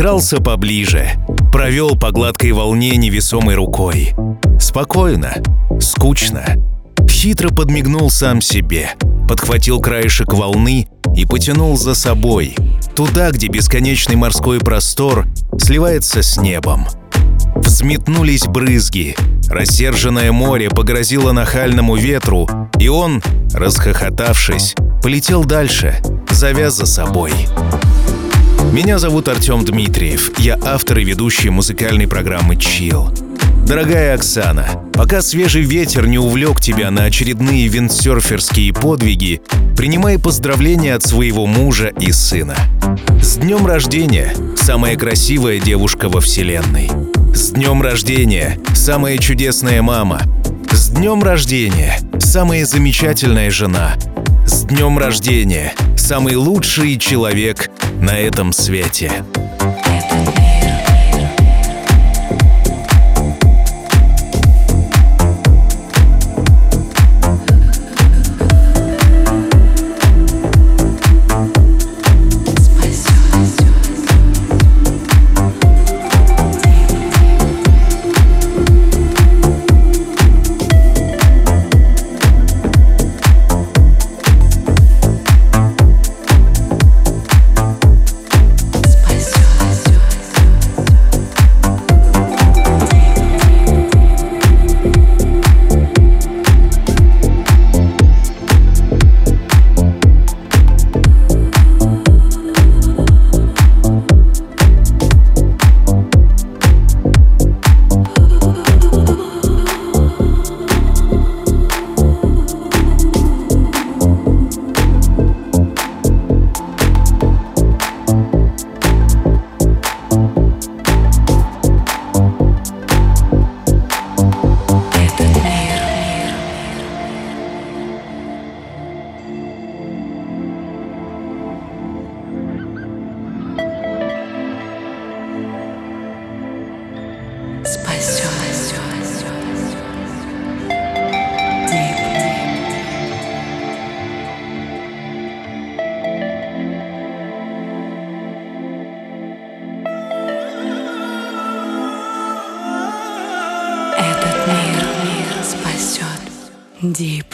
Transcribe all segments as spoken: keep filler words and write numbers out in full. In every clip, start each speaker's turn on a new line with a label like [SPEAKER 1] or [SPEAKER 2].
[SPEAKER 1] Прижался поближе, провел по гладкой волне невесомой рукой. Спокойно, скучно. Хитро подмигнул сам себе, подхватил краешек волны и потянул за собой, туда, где бесконечный морской простор сливается с небом. Взметнулись брызги, рассерженное море погрозило нахальному ветру, и он, расхохотавшись, полетел дальше, зовя за собой. Меня зовут Артем Дмитриев, я автор и ведущий музыкальной программы «Чилл». Дорогая Оксана, пока свежий ветер не увлек тебя на очередные виндсерферские подвиги, принимай поздравления от своего мужа и сына. С днем рождения, самая красивая девушка во вселенной. С днем рождения, самая чудесная мама. С днем рождения, самая замечательная жена. С днем рождения, самый лучший человек на этом свете.
[SPEAKER 2] Deep.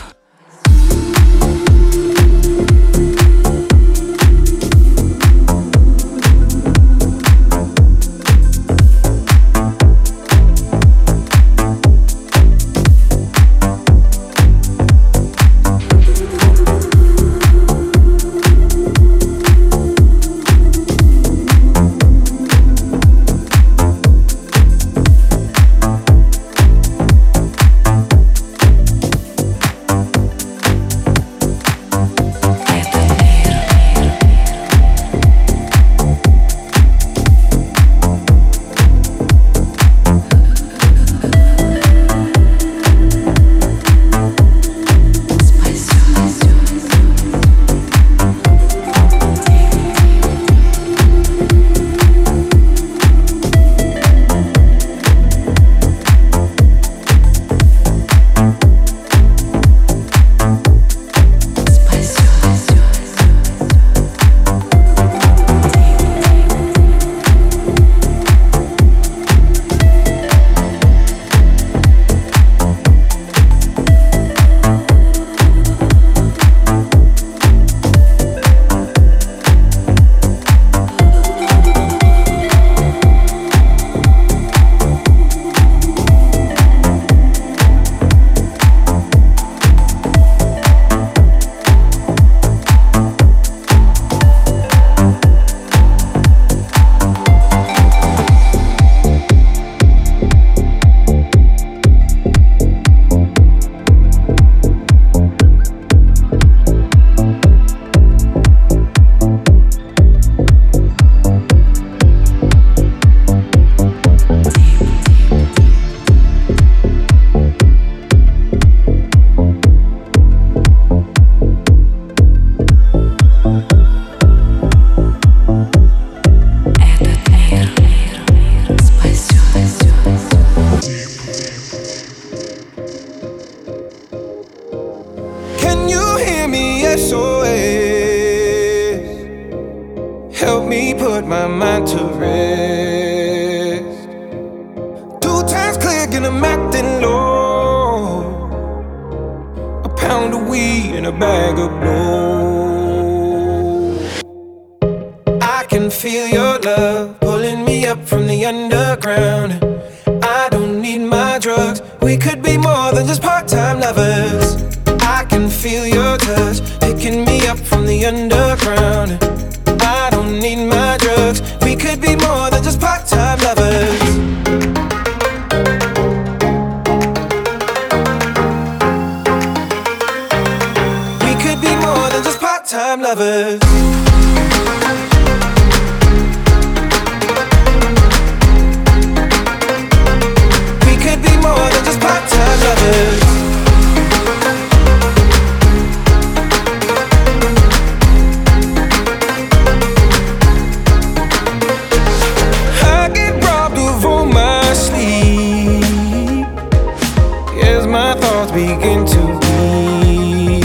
[SPEAKER 3] Help me put my mind to rest.
[SPEAKER 2] in a bag of blow. I can feel your love pulling me up from the underground. I don't need my drugs, we could be more than just part-time lovers. I can feel your touch picking me up from the underground. I don't need my drugs, we could be more than just part-time lovers. We could be more than just part-time lovers. We could be more than just part-time lovers. Begin to be.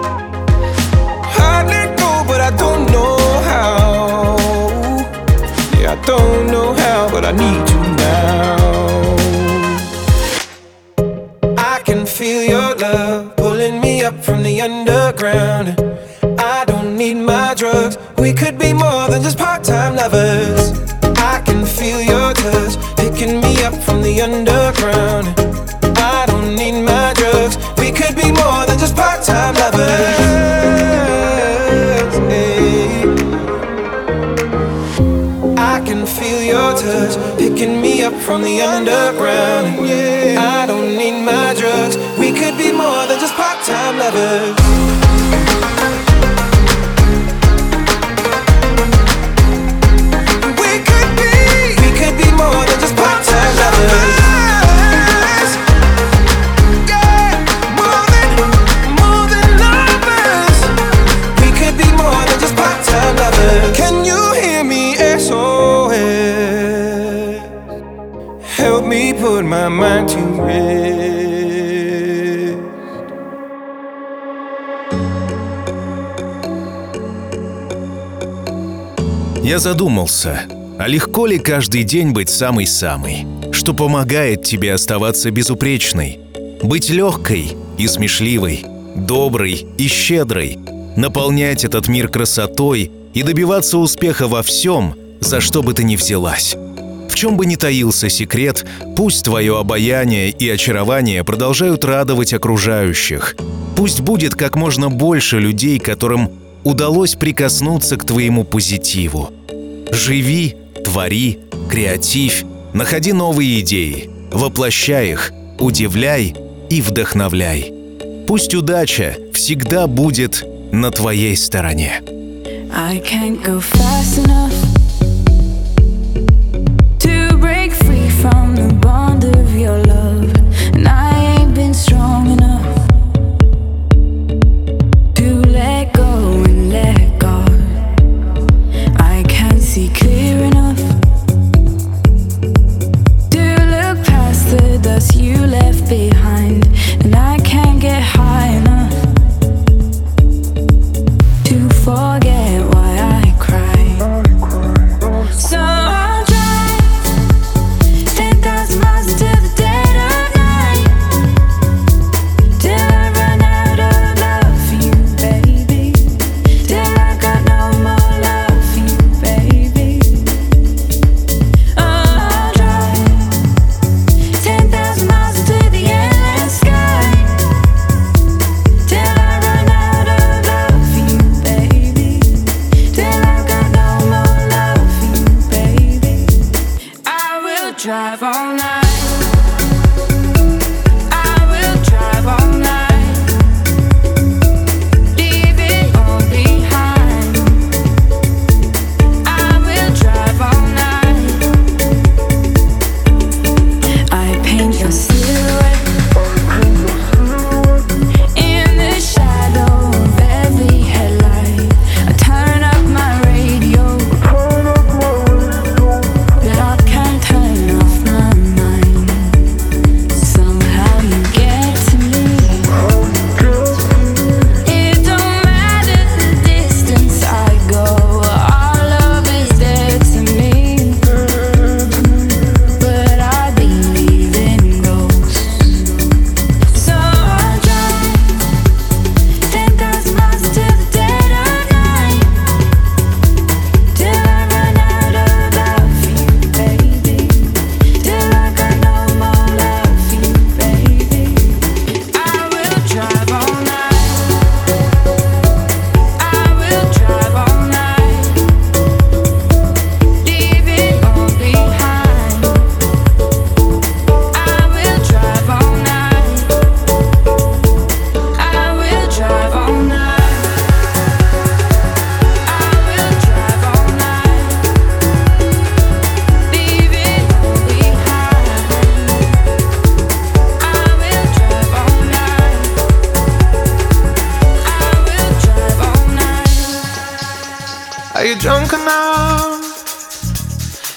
[SPEAKER 2] I let go, but I don't know how. Yeah, I don't know how, but I need you now. I can feel your love pulling me up from the underground. I don't need my drugs, we could be more than just part-time lovers. I can feel your touch picking me up from the underground. I don't need my drugs, we could be more than just part-time lovers. Hey. I can feel your touch picking me up from the underground. I don't need my drugs, we could be more than just part-time lovers. We could be, we could be more than just part-time lovers. Can you hear me? S O S. Help me put my mind to rest.
[SPEAKER 1] Я задумался, а легко ли каждый день быть самой-самой, что помогает тебе оставаться безупречной, быть легкой и смешливой, доброй и щедрой, наполнять этот мир красотой и добиваться успеха во всем, за что бы ты ни взялась. В чем бы ни таился секрет, пусть твое обаяние и очарование продолжают радовать окружающих. Пусть будет как можно больше людей, которым удалось прикоснуться к твоему позитиву. Живи, твори, креативь, находи новые идеи, воплощай их, удивляй и вдохновляй. Пусть удача всегда будет на твоей стороне.
[SPEAKER 3] I can't go fast enough to break free from the bond of your love, and I ain't been strong enough to let go and let God. I can't see clear enough to look past the dust you left behind, and I can't get high enough to forget why I cry.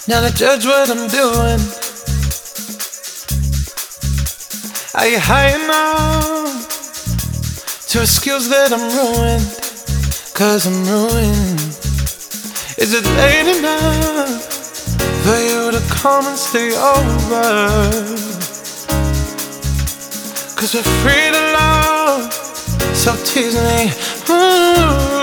[SPEAKER 2] Now to judge what I'm doing. Are you high enough to excuse that I'm ruined? Cause I'm ruined. Is it late enough for you to come and stay over? Cause we're free to love, so tease me. Ooh.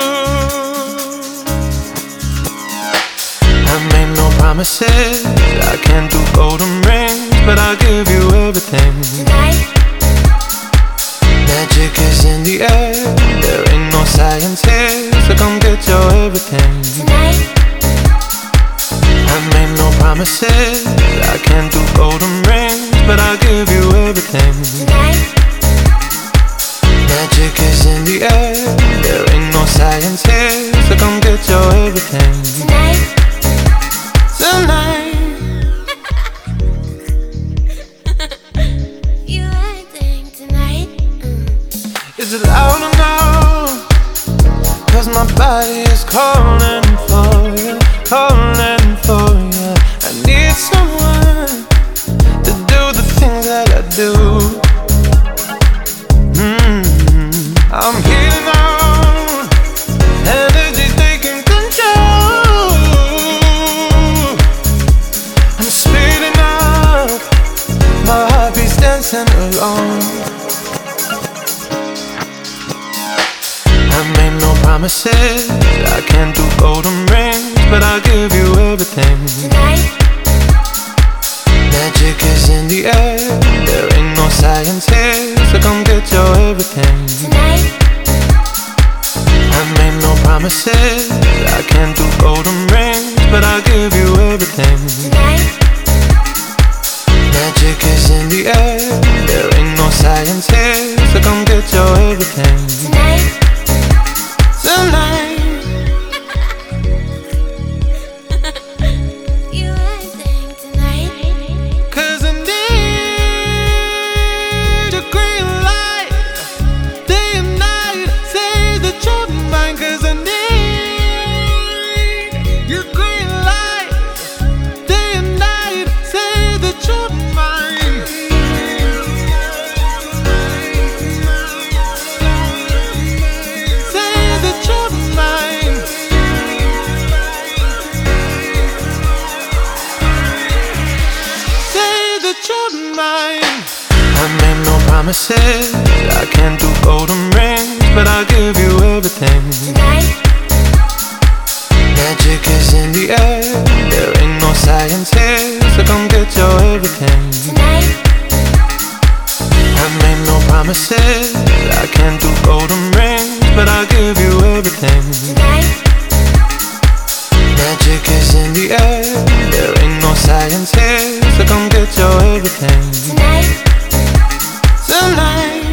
[SPEAKER 2] I made no promises, I can't do golden rings, but I'll give you everything.
[SPEAKER 4] Tonight.
[SPEAKER 2] Magic is in the air, there ain't no science here, so come get your everything.
[SPEAKER 4] Tonight.
[SPEAKER 2] I made no promises, I can't do golden rings, but I'll give you everything.
[SPEAKER 4] Tonight.
[SPEAKER 2] Magic is in the air, there ain't no science here, so come get your everything.
[SPEAKER 4] Tonight.
[SPEAKER 2] Tonight.
[SPEAKER 4] You acting tonight. Mm.
[SPEAKER 2] Is it loud or no? Cause my body is calling for you, calling for you. I need someone to do the things that I do. Mm-hmm. I'm healing on, energy's taking control. I'm speeding up, my heartbeat's dancing alone. I made no promises, I can't do golden rings, but I'll give you everything.
[SPEAKER 4] Tonight.
[SPEAKER 2] Magic is in the air, there ain't no science here, so come get your everything.
[SPEAKER 4] Tonight.
[SPEAKER 2] I made no promises, I can't do golden rings, but I'll give you everything.
[SPEAKER 4] Tonight.
[SPEAKER 2] Magic is in the air, there ain't no science here, so come get your everything.
[SPEAKER 4] Tonight.
[SPEAKER 2] Tonight.
[SPEAKER 4] You acting tonight.
[SPEAKER 2] Cause I need a green light, day and night, say that you're mine. Cause I need your green light, day and night, say that you're mine. Say that you're mine. Say that you're mine. I made no promises, I can't do golden rings, but I'll give you everything.
[SPEAKER 4] Tonight.
[SPEAKER 2] Magic is in the air, there ain't no science here, so come get your everything.
[SPEAKER 4] Tonight.
[SPEAKER 2] I made no promises, I can't do golden rings, but I'll give you everything.
[SPEAKER 4] Tonight.
[SPEAKER 2] Magic is in the air, there ain't no science here, so come get your everything.
[SPEAKER 4] Tonight.
[SPEAKER 2] Tonight.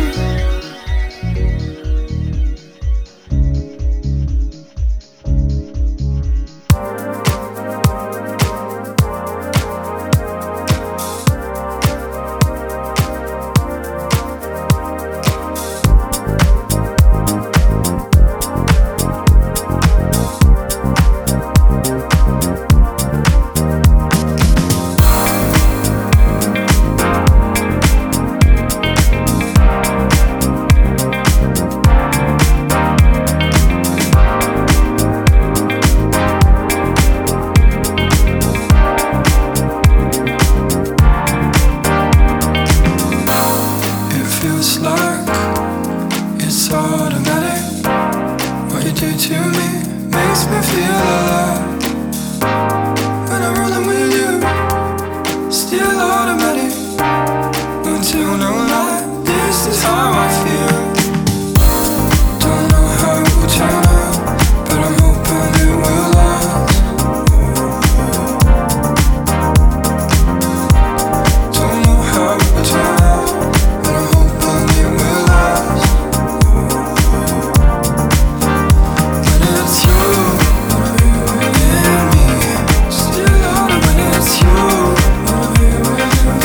[SPEAKER 2] Still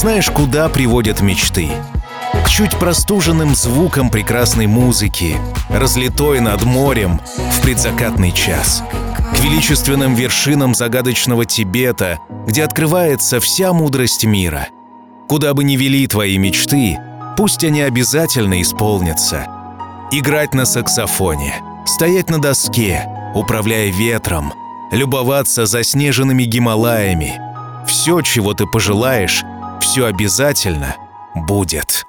[SPEAKER 1] Знаешь, куда приводят мечты? К чуть простуженным звукам прекрасной музыки, разлитой над морем в предзакатный час, к величественным вершинам загадочного Тибета, где открывается вся мудрость мира. Куда бы ни вели твои мечты, пусть они обязательно исполнятся. Играть на саксофоне, стоять на доске, управляя ветром, любоваться заснеженными Гималаями. Все, чего ты пожелаешь, все обязательно будет.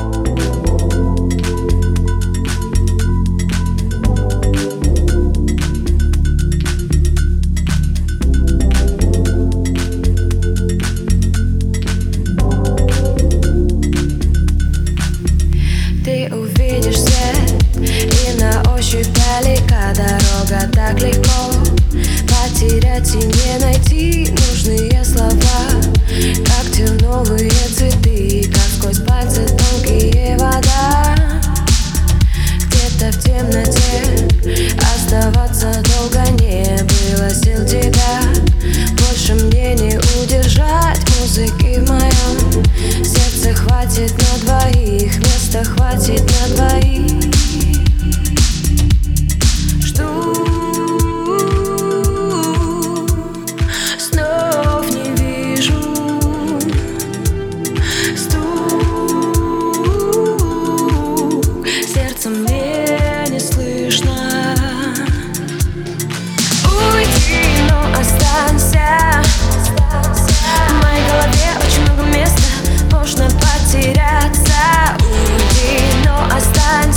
[SPEAKER 3] Ты увидишь свет, и на ощупь далека дорога так легко. Потерять и не найти нужные слова, как терновые цветы, как сквозь пальцы тонкие вода. Где-то в темноте оставаться долго не было сил тебя. Больше мне не удержать музыки в моем сердце. Хватит на двоих, места хватит на двоих. Потеряться, уйди, но останься.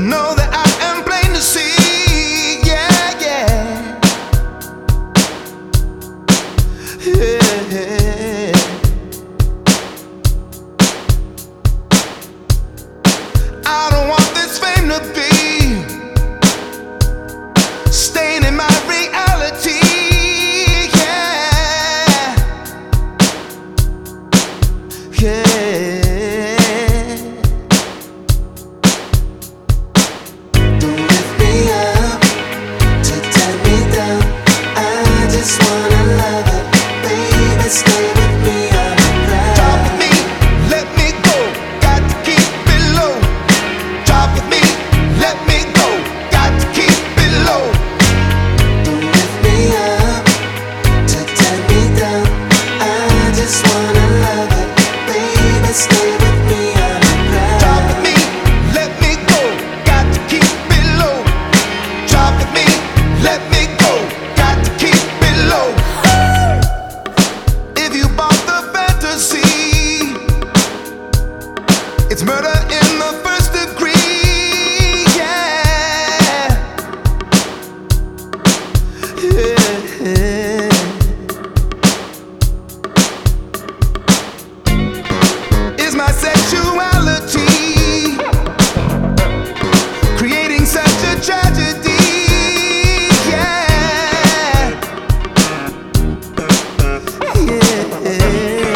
[SPEAKER 2] know that I am plain to see. Yeah, yeah, yeah. I don't want this fame to be staying in my reality. Yeah, yeah. Don't lift me up to tear me down. I just wanna love it, baby. Stay with me on the ground. Drop with me, let me go. Got to keep it low. Drop with me, let me go. Got to keep it low. Don't lift me up to tear me down. I just wanna love it, baby. Stay with me on the ground. Drop with me, let me go. Got to keep it low. Drop with me, let me go. Got to keep it low. If you bought the fantasy, it's murder in the first degree. Yeah, yeah. Is my sexuality creating such a tragedy? Yeah, yeah.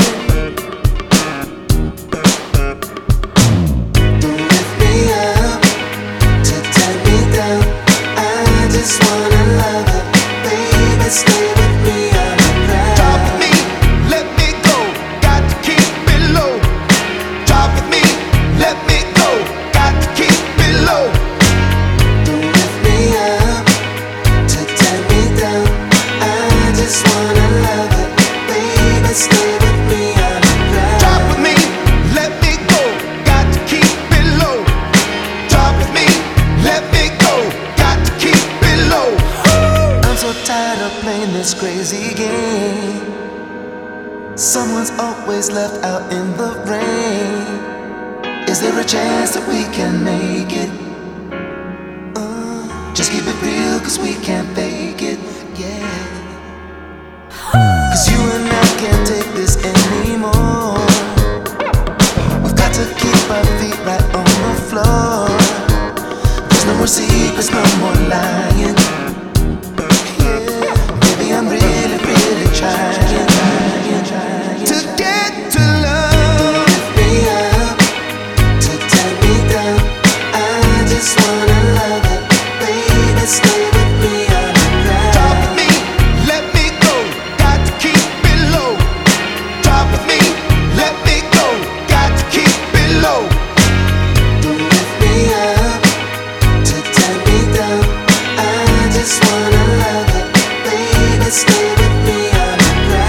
[SPEAKER 2] Don't lift me up to tear me down. I just wanna love it, baby. Stay with me on the ground. Drop with me, let me go. Got to keep it low. Drop with me, let me go. Got to keep it low. Don't lift me up to tear me down. I just wanna love it, baby. Stay with me on the ground. Drop with me, let me go. Got to keep it low. Drop with me, let me go. Got to keep it low. I'm so tired of playing this crazy game. Someone's always left out in the rain. Is there a chance that we can make it? Uh, just keep it real, cause we can't fake it. Yeah, cause you and I can't take this anymore. We've got to keep our feet right on the floor. There's no more secrets, no more lying. Yeah, baby, I'm really, really trying, trying, trying to get to love. Lift me up to tear me down. I just wanna love it, baby. Stay with me on the ground. Drop with me, let me go. Got to keep it low. Drop with me, let me go. Got to keep it low. Don't lift me up to tear me down. I just wanna love it, baby. Stay with me on the ground.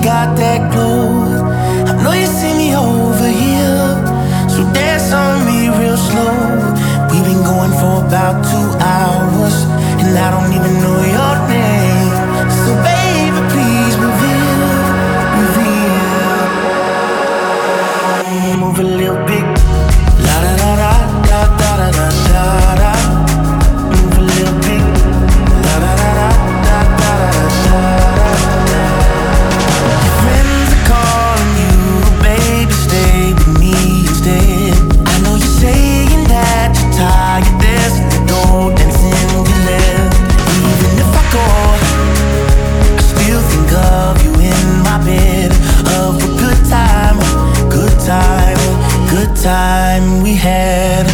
[SPEAKER 2] got that glow. I know you see me over here, so dance on me real slow. We've been going for about two hours, and I don't even know your name. So baby, please reveal, reveal. Move a little bit. La da da da da da da da da. Move a little bit. La da da da da da da da. Your friends are calling you, baby, stay with me instead. I know you're saying that you're tired, there's no dancing you left. Even if I go, I still think of you in my bed. Of a good time, good time, good time we had.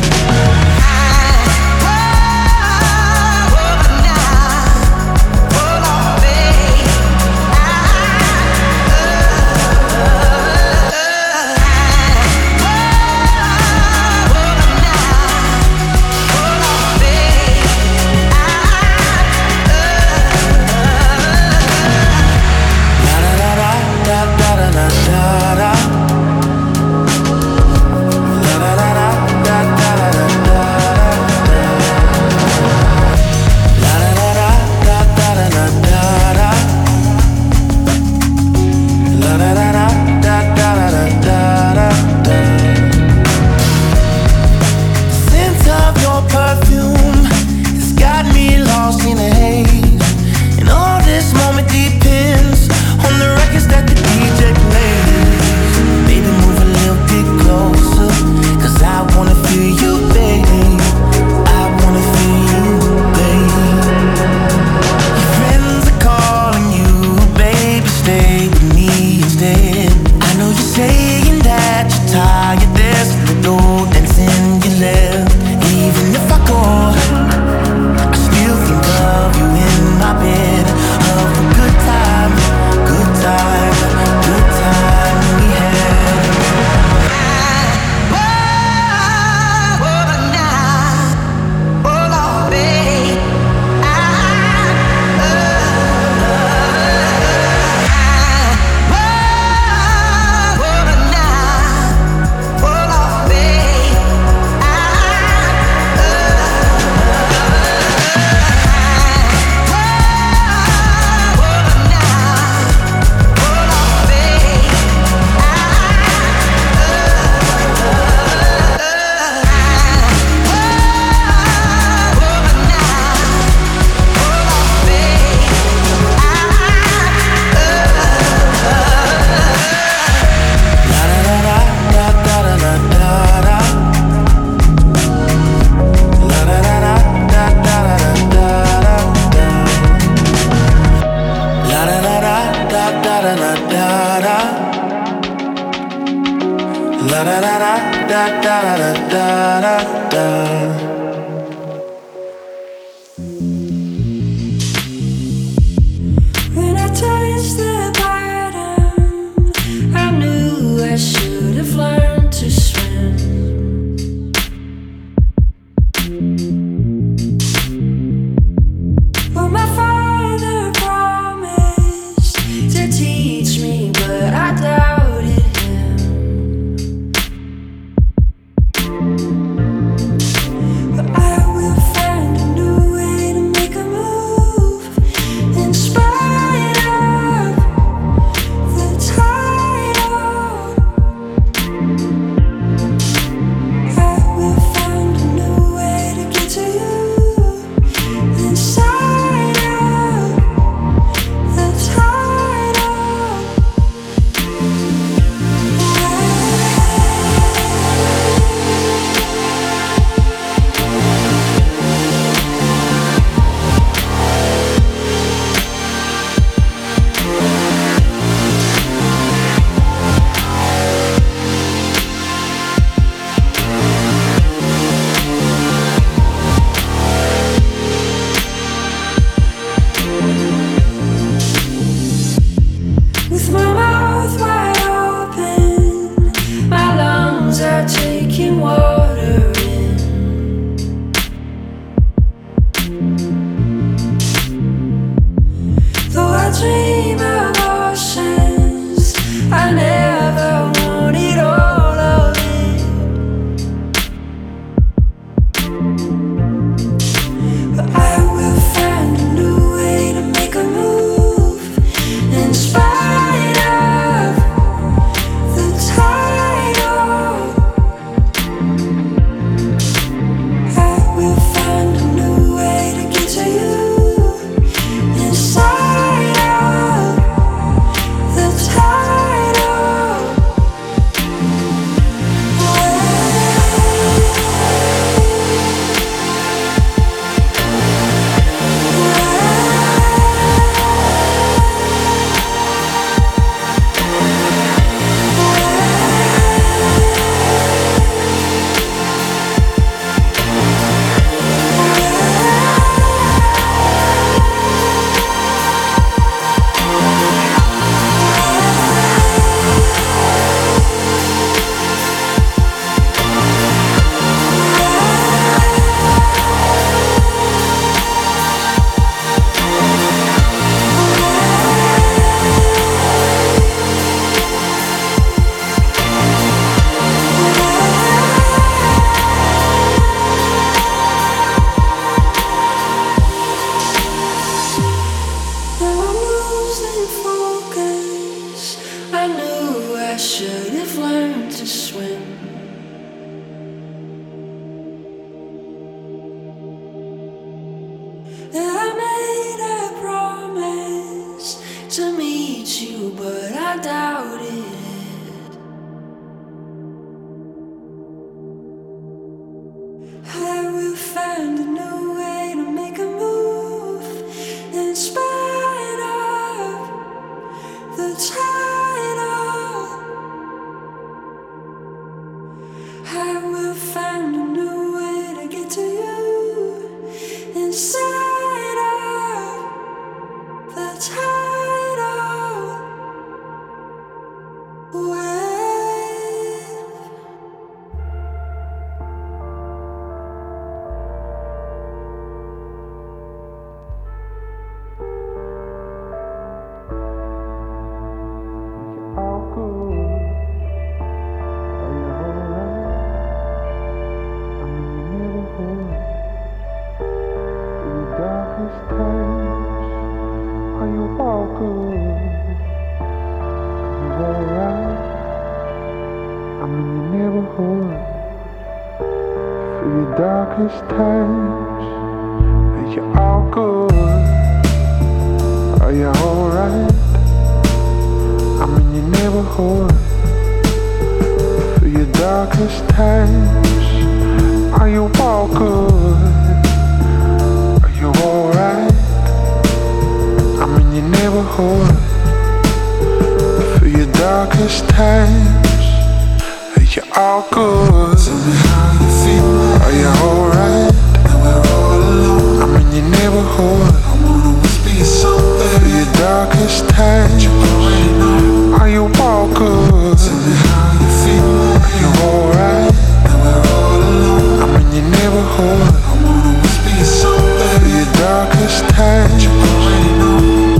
[SPEAKER 5] darkest times, are you all good? Are you alright? I'm in your neighborhood. For your darkest times, are you all good? Are you alright? I'm in your neighborhood. For your darkest times, are you all good? Tell me how you feel. Are you alright? Now we're all alone. I'm in your neighborhood. I wanna whisper you something. For your darkest times, you already know. Are you all good? Tell me how you feel. Are you alright? Now we're all alone. I'm in your neighborhood. I wanna whisper you something. For your darkest times, you already know.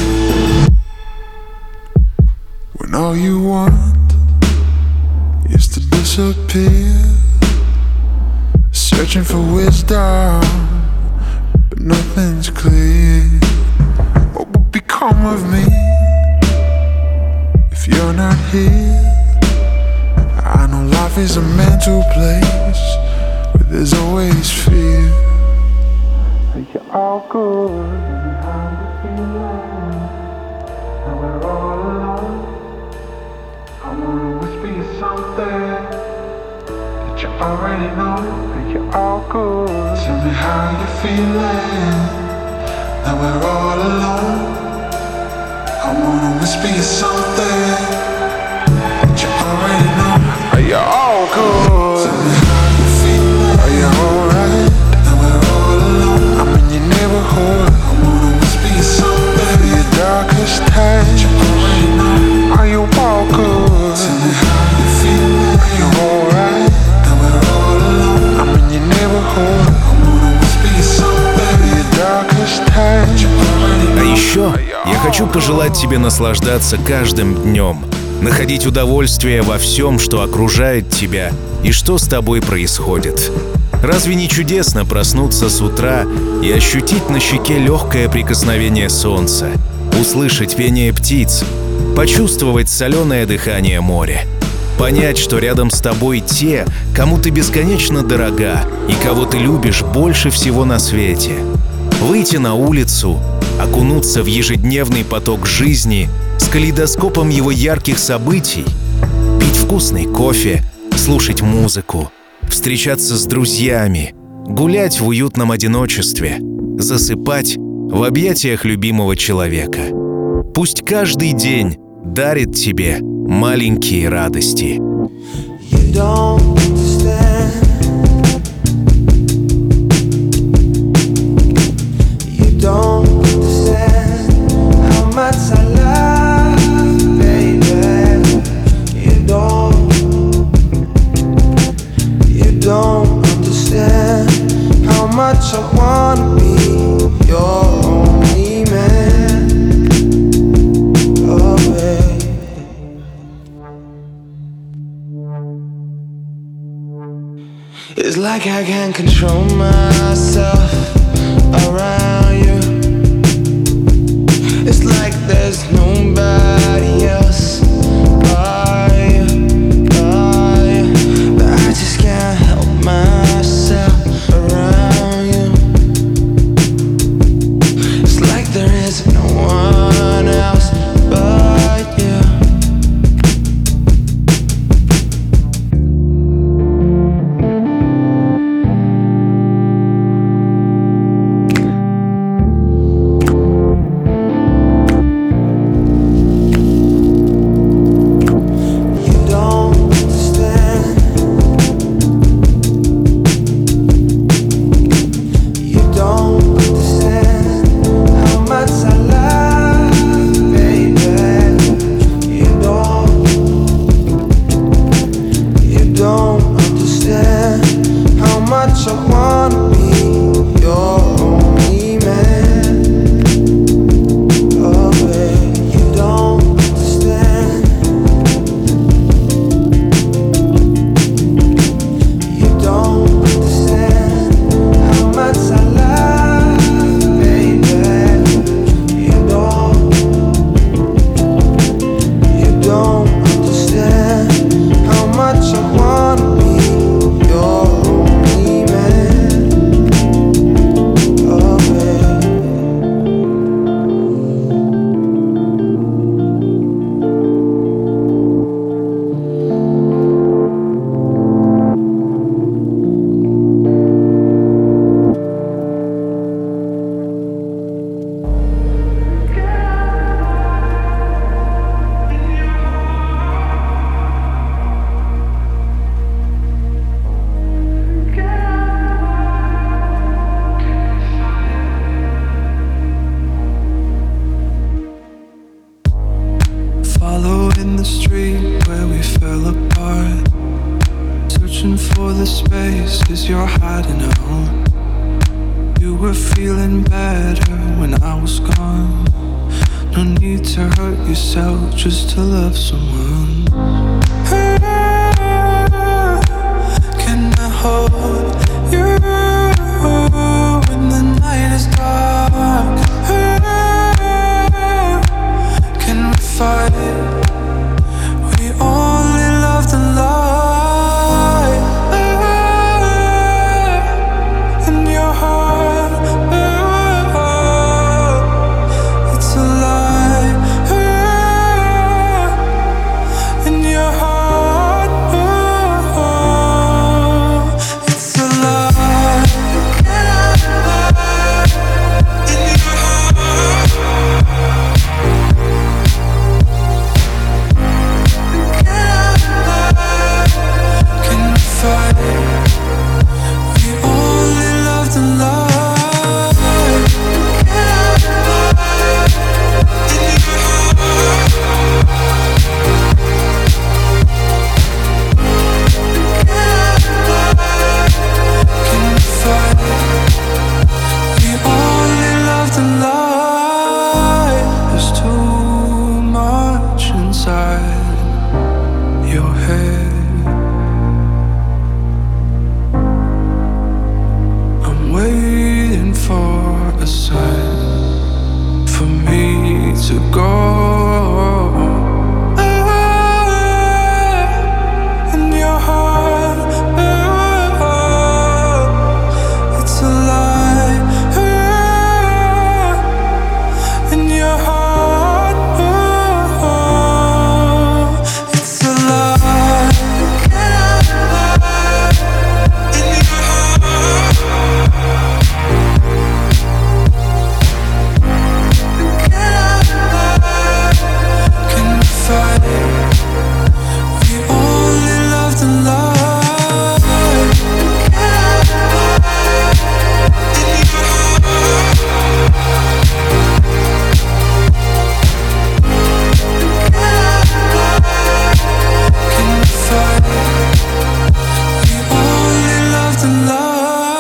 [SPEAKER 5] When all you want is to disappear, searching for wisdom, but nothing's clear. What would become of me if you're not here? I know life is a mental place where there's always fear. Are you all good? How you feeling? Now we're all alone. I wanna whisper you something that you already know. Are you all good? Tell me how you feeling. Now we're all alone. I wanna whisper you something that you already know. Are you all good? Tell me how you feeling. Are you alright? Now we're all alone. I'm in your neighborhood. I wanna whisper you something for your darkest times that you already know. Are you all good? Tell me how you feeling. Are you alright? Now we're all alone. I'm in your neighborhood. I wanna whisper you something for your darkest times that you already know.
[SPEAKER 1] А еще я хочу пожелать тебе наслаждаться каждым днем, находить удовольствие во всем, что окружает тебя и что с тобой происходит. Разве не чудесно проснуться с утра и ощутить на щеке легкое прикосновение солнца, услышать пение птиц, почувствовать соленое дыхание моря, понять, что рядом с тобой те, кому ты бесконечно дорога и кого ты любишь больше всего на свете, выйти на улицу, окунуться в ежедневный поток жизни с калейдоскопом его ярких событий, пить вкусный кофе, слушать музыку, встречаться с друзьями, гулять в уютном одиночестве, засыпать в объятиях любимого человека. Пусть каждый день дарит тебе маленькие радости.
[SPEAKER 2] You don't understand. You don't understand how much I love you, baby. You don't. You don't understand how much I wanna be your only man. Oh, baby. It's like I can't control myself around you. It's like there's nobody else but you, but you. But I just can't help myself around you. It's like there is no one else but you.
[SPEAKER 6] places you're hiding out. You were feeling better when I was gone. No need to hurt yourself just to love someone. Can I hold you when the night is dark? Can we fight? We only love the light in your heart. It's a lie in your heart. It's a lie in your heart. Can we fight? We only love the light in your heart. Can we fight? We only love the light. There's too much inside your head. I'm waiting for a sign for me to go. In your heart, it's a lie. In your heart, it's a lie. In your heart, can we fight? We only love the light in your heart. Can we fight? We only love the light.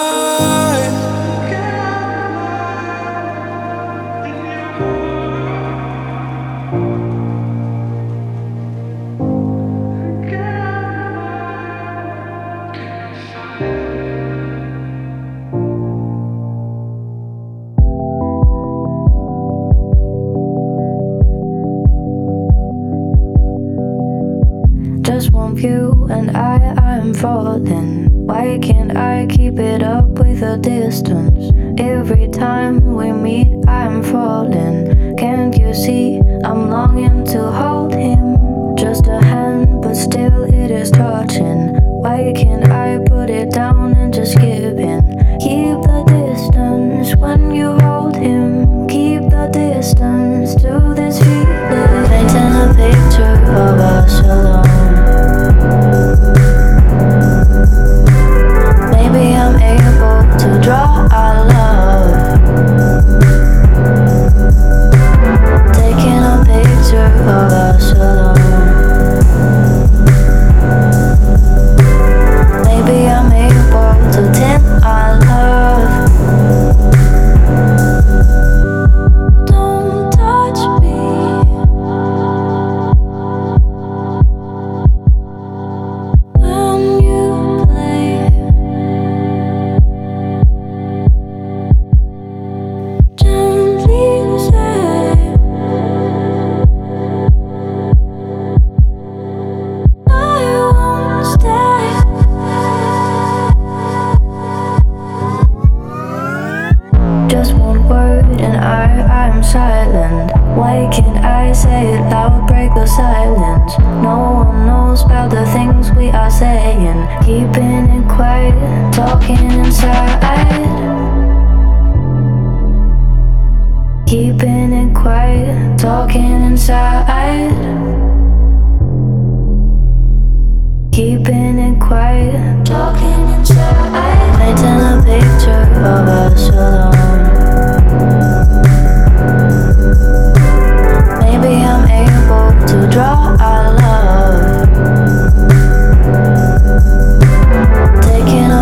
[SPEAKER 3] Just one view and I, I'm falling. Why can't I keep it up with a distance? Every time we meet, I'm falling. Can't you see I'm longing to hold him? Just a hand, but still it is touching. Why can't I put it down and just give in? Keep the distance when you hold him. Keep the distance to this feeling. Painting a picture of us alone. Maybe I'm able to draw our love. Taking a picture of us alone. Maybe I'm able to tend our love. Don't touch me. When you play, gently say, I won't stay. Just one word and I, I'm silent. Why can't I say it loud, break the silence? No one knows about the things we are saying. Keeping it quiet, talking inside. Keeping it quiet, talking inside. Keeping it quiet, talking inside. Painting a picture of us alone. Maybe I'm able to draw our love. Taking a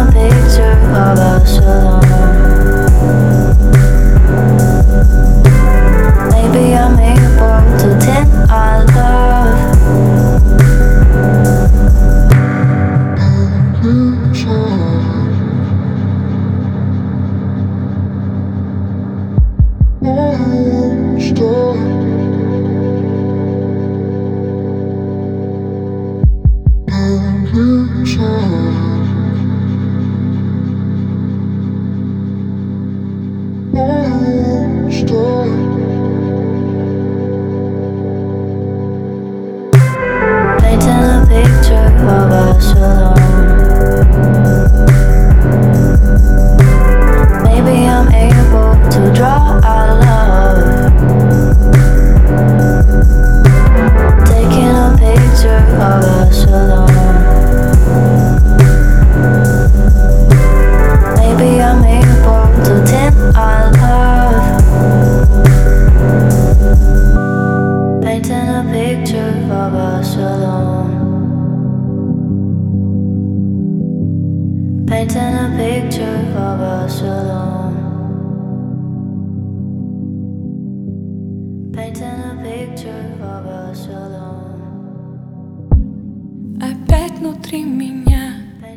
[SPEAKER 7] Опять внутри меня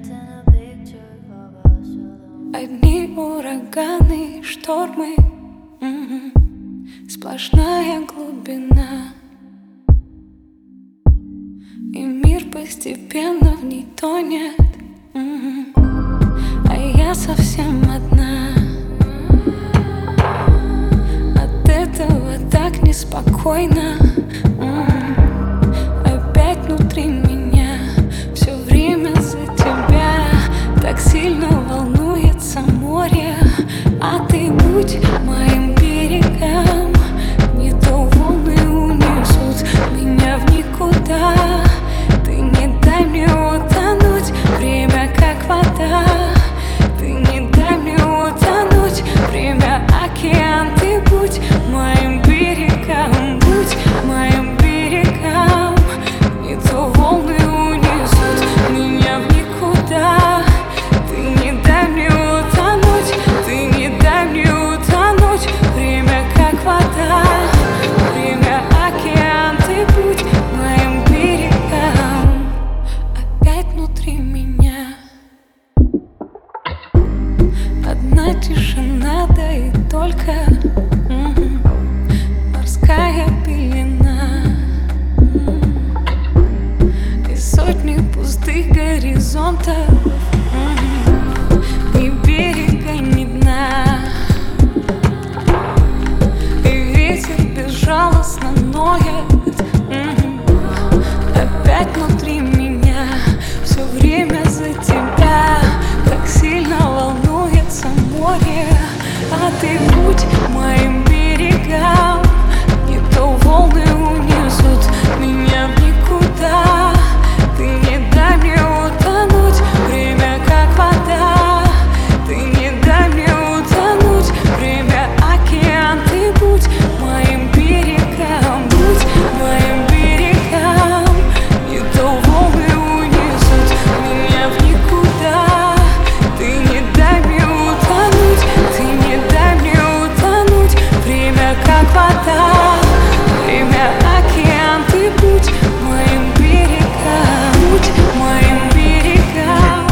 [SPEAKER 7] одни ураганы, штормы, м-м, сплошная глубина, и мир постепенно в ней тонет, м-м, а я совсем одна. От этого так неспокойно, м-м, опять внутри меня все время за тебя. Так сильно волнуется море, а ты будь моим берегом. Не то волны унесут меня в никуда. Ты не дай мне утонуть, время как вода. Ты не дай мне утонуть, время океан. Ты будь моим берегом, будь моим берегом. Не то волны унесут меня в никуда. Ты не дай мне утонуть, ты не дай мне утонуть. Время как вода, время океан. Ты будь моим берегом. Опять внутри меня одна тишина, да и только м-м, морская пелена, м-м, и сотни пустых горизонтов, м-м, ни берега, ни дна. И ветер безжалостно ноет, м-м, опять внутри меня все время за тебя. Так сильно волнуется море, а ты будь моим берегом. Не то волны унесут меня в никуда. Ты не дай мне утонуть, время как вода. Ты не дай мне утонуть, время океан. Ты будь моим берегом, будь моим берегом. Не то волны унесут меня в никуда. Ты не дай мне утонуть, ты не дай мне утонуть. Время как вода, время океан. Ты будь моим берегом, будь моим берегом.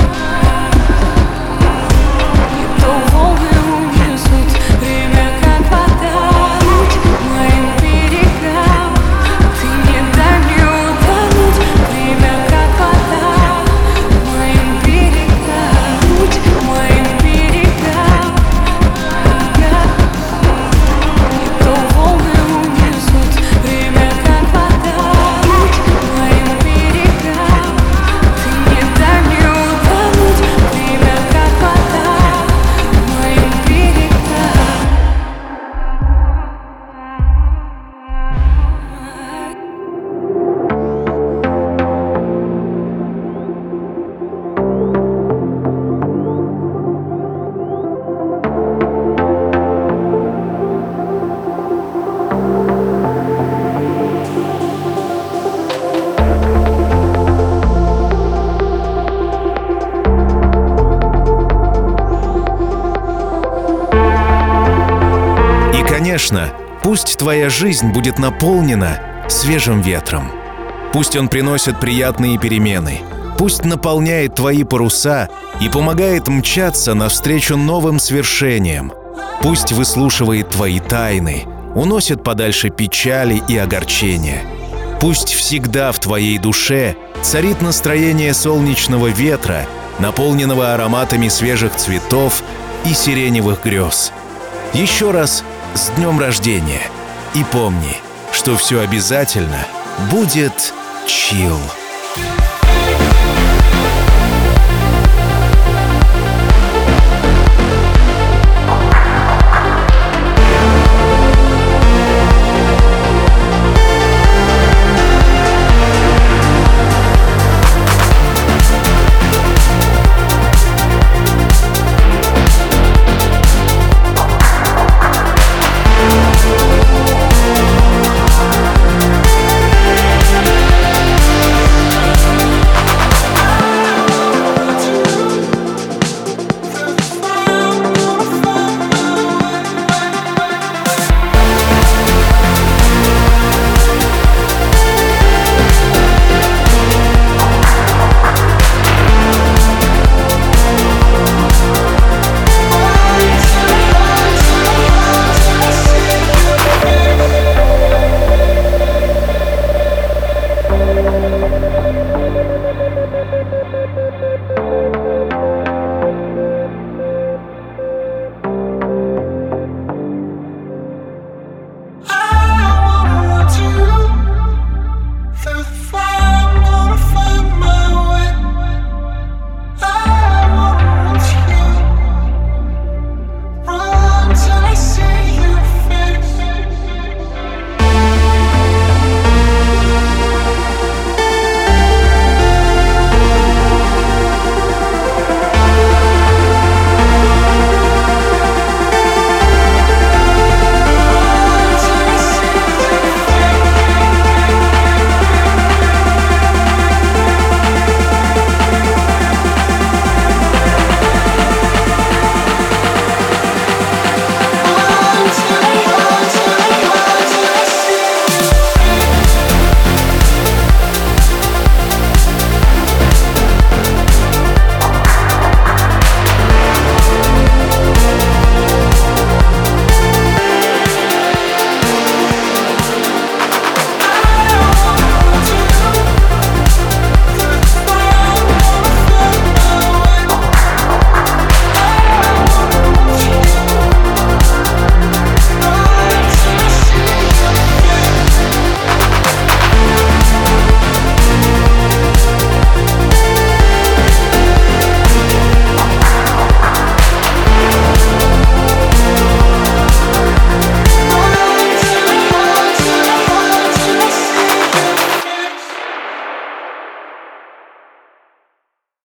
[SPEAKER 7] Не то волны унесут время как вода. Будь моим берегом. Ты не дай мне утонуть, время как вода. Моим берегом, будь моим берегом. Не то волны унесут время как вода. Будь моим берегом. Ты не дай мне утонуть, время как вода. Моим берегом.
[SPEAKER 1] И, конечно, пусть твоя жизнь будет наполнена свежим ветром. Пусть он приносит приятные перемены. Пусть наполняет твои паруса и помогает мчаться навстречу новым свершениям. Пусть выслушивает твои тайны, уносят подальше печали и огорчения. Пусть всегда в твоей душе царит настроение солнечного ветра, наполненного ароматами свежих цветов и сиреневых грез. Еще раз с днем рождения! И помни, что все обязательно будет чилл.